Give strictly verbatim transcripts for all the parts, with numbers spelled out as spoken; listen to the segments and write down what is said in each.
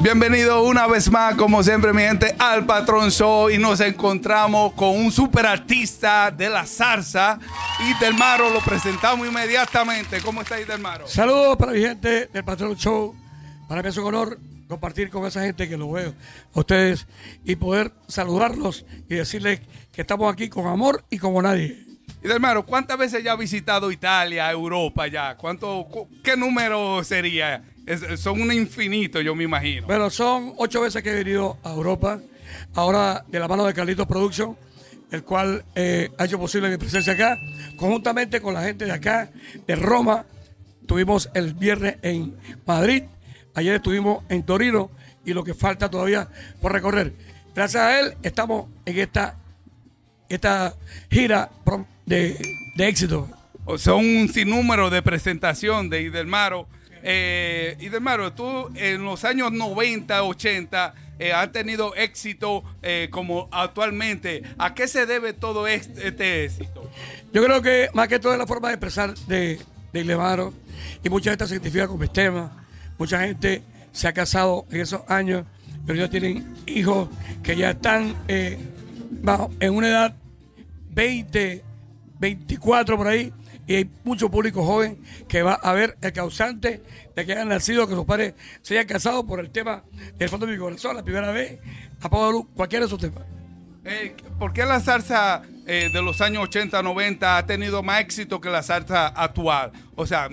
Bienvenido una vez más, como siempre, mi gente, al Patrón Show. Y nos encontramos con un super artista de la salsa, Idelmaro. Lo presentamos inmediatamente. ¿Cómo está Idelmaro? Saludos para mi gente del Patrón Show. Para mí es un honor compartir con esa gente que lo veo a ustedes y poder saludarlos y decirles que estamos aquí con amor y como nadie. Idelmaro, ¿cuántas veces ya ha visitado Italia, Europa ya? ¿Cuánto, ¿Qué número sería? Es, son un infinito, yo me imagino. Bueno, son ocho veces que he venido a Europa, ahora de la mano de Carlitos Production, el cual eh, ha hecho posible mi presencia acá, conjuntamente con la gente de acá, de Roma. Estuvimos el viernes en Madrid, ayer estuvimos en Torino y lo que falta todavía por recorrer. Gracias a él estamos en esta, esta gira de, de éxito. O sea, un sinnúmero de presentación de Idelmaro. Eh, Idelmaro, tú en los años noventa, ochenta eh, has tenido éxito eh, como actualmente. ¿A qué se debe todo este, este éxito? Yo creo que más que todo es la forma de expresar de, de Idelmaro, y mucha gente se identifica con mis temas. Mucha gente se ha casado en esos años, pero ya tienen hijos que ya están eh, bajo, en una edad veinte, veinticuatro por ahí. Y hay mucho público joven que va a ver el causante de que hayan nacido, que sus padres se hayan casado por el tema del fondo de mi corazón, la primera vez, apago de luz, cualquiera de esos temas. Eh, ¿Por qué la salsa eh, de los años ochenta, noventa ha tenido más éxito que la salsa actual? O sea,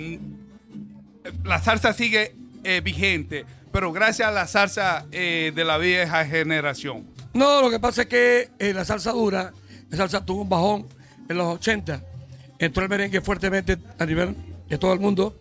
la salsa sigue eh, vigente, pero gracias a la salsa eh, de la vieja generación. No, lo que pasa es que eh, la salsa dura, la salsa tuvo un bajón en los ochenta. Entró el merengue fuertemente a nivel de todo el mundo.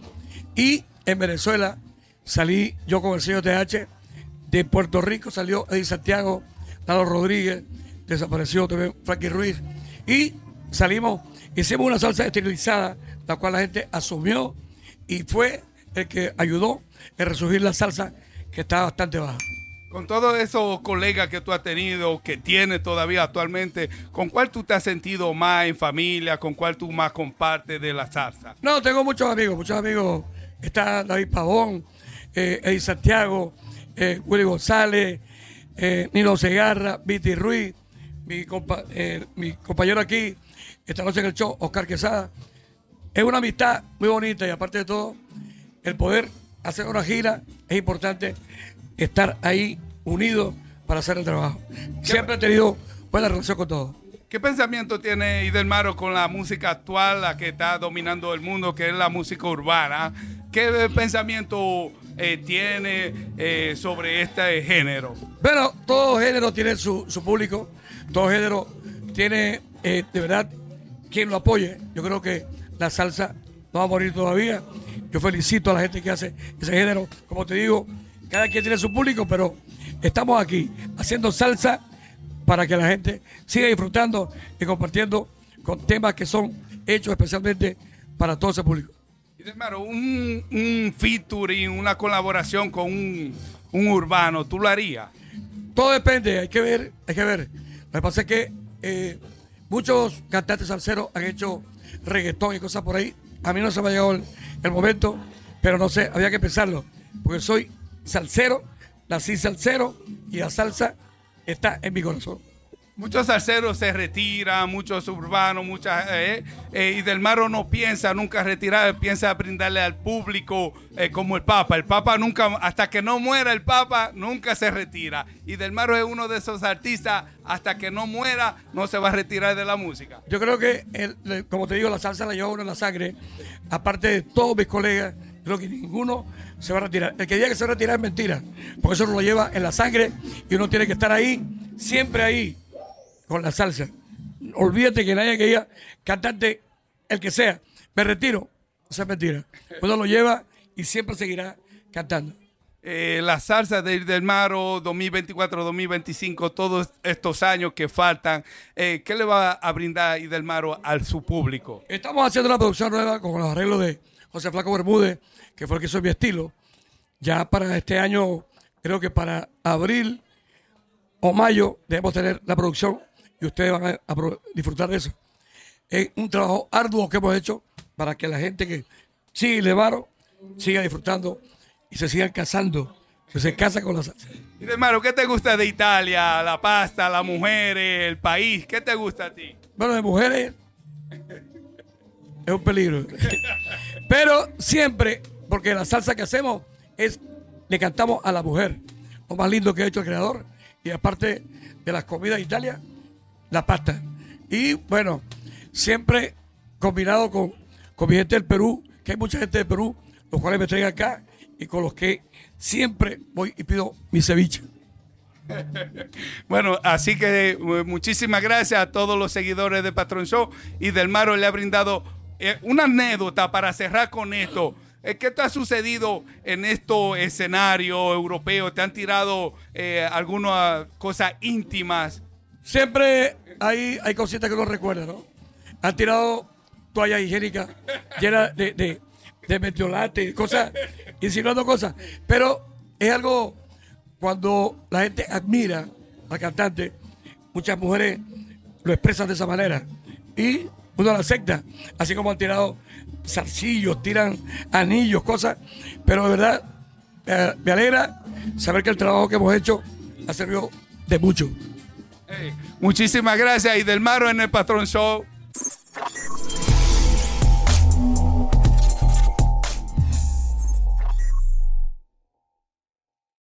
Y en Venezuela salí yo con el señor T H. De Puerto Rico salió Eddie Santiago, Lalo Rodríguez, desapareció también Frankie Ruiz. Y salimos, hicimos una salsa estilizada, la cual la gente asumió y fue el que ayudó a resurgir la salsa que estaba bastante baja. Con todos esos colegas que tú has tenido, que tienes todavía actualmente, ¿con cuál tú te has sentido más en familia? ¿Con cuál tú más compartes de la salsa? No, tengo muchos amigos, muchos amigos. Está David Pavón, eh, Eddie Santiago, eh, Willy González, eh, Nino Segarra, Viti Ruiz, mi, compa eh, mi compañero aquí, esta noche en el show, Oscar Quesada. Es una amistad muy bonita y aparte de todo, el poder hacer una gira es importante. Estar ahí unidos para hacer el trabajo. Siempre he tenido buena relación con todos. ¿Qué pensamiento tiene Idelmaro con la música actual, la que está dominando el mundo, que es la música urbana? ¿Qué pensamiento eh, tiene eh, sobre este género? Bueno, todo género tiene su, su público, todo género tiene eh, de verdad quien lo apoye. Yo creo que la salsa no va a morir todavía. Yo felicito a la gente que hace ese género. Como te digo, cada quien tiene su público, pero estamos aquí haciendo salsa para que la gente siga disfrutando y compartiendo con temas que son hechos especialmente para todo ese público. Idelmaro, un, un featuring, una colaboración con un, un urbano, ¿tú lo harías? Todo depende, hay que ver, hay que ver. Lo que pasa es que eh, muchos cantantes salseros han hecho reggaetón y cosas por ahí. A mí no se me ha llegado el, el momento, pero no sé, había que pensarlo, porque soy salsero, nací salsero y la salsa está en mi corazón. Muchos salseros se retiran, muchos urbanos, muchas eh, eh, Idelmaro no piensa nunca retirar, piensa brindarle al público eh, como el Papa. El Papa nunca, hasta que no muera el Papa, nunca se retira. Idelmaro es uno de esos artistas, hasta que no muera, no se va a retirar de la música. Yo creo que, el, como te digo, la salsa la lleva uno en la sangre. Aparte de todos mis colegas, creo que ninguno se va a retirar. El que diga que se va a retirar es mentira, porque eso uno lo lleva en la sangre y uno tiene que estar ahí, siempre ahí, con la salsa. Olvídate que nadie que diga, cantante, el que sea, me retiro, eso es mentira. Uno lo lleva y siempre seguirá cantando. Eh, la salsa de Idelmaro dos mil veinticuatro, dos mil veinticinco, todos estos años que faltan, eh, ¿qué le va a brindar Idelmaro a su público? Estamos haciendo una producción nueva con los arreglos de José Flaco Bermúdez, que fue el que hizo mi estilo. Ya para este año, creo que para abril o mayo debemos tener la producción y ustedes van a, a disfrutar de eso. Es un trabajo arduo que hemos hecho para que la gente que sigue Idelmaro siga disfrutando y se sigan casando que se casa con la salsa. Y hermano, ¿qué te gusta de Italia? La pasta, las mujeres, el país. ¿Qué te gusta a ti? Bueno, de mujeres es un peligro. Pero siempre, porque la salsa que hacemos es, le cantamos a la mujer. Lo más lindo que ha hecho el creador. Y aparte de las comidas de Italia, la pasta. Y bueno, siempre combinado con, con mi gente del Perú, que hay mucha gente del Perú, los cuales me traen acá y con los que siempre voy y pido mi ceviche. Bueno, así que eh, muchísimas gracias a todos los seguidores de Patrón Show, y Delmaro le ha brindado eh, una anécdota para cerrar con esto. Eh, ¿Qué te ha sucedido en estos escenarios europeos? ¿Te han tirado eh, algunas cosas íntimas? Siempre hay, hay cositas que uno recuerda, ¿no? Han tirado toallas higiénicas llenas de, de, de metiolate, cosas, insinuando cosas. Pero es algo, cuando la gente admira al cantante, muchas mujeres lo expresan de esa manera. Y uno la acepta, así como han tirado zarcillos, tiran anillos, cosas. Pero de verdad, eh, me alegra saber que el trabajo que hemos hecho ha servido de mucho. Hey, muchísimas gracias, y Delmaro en el Patrón Show.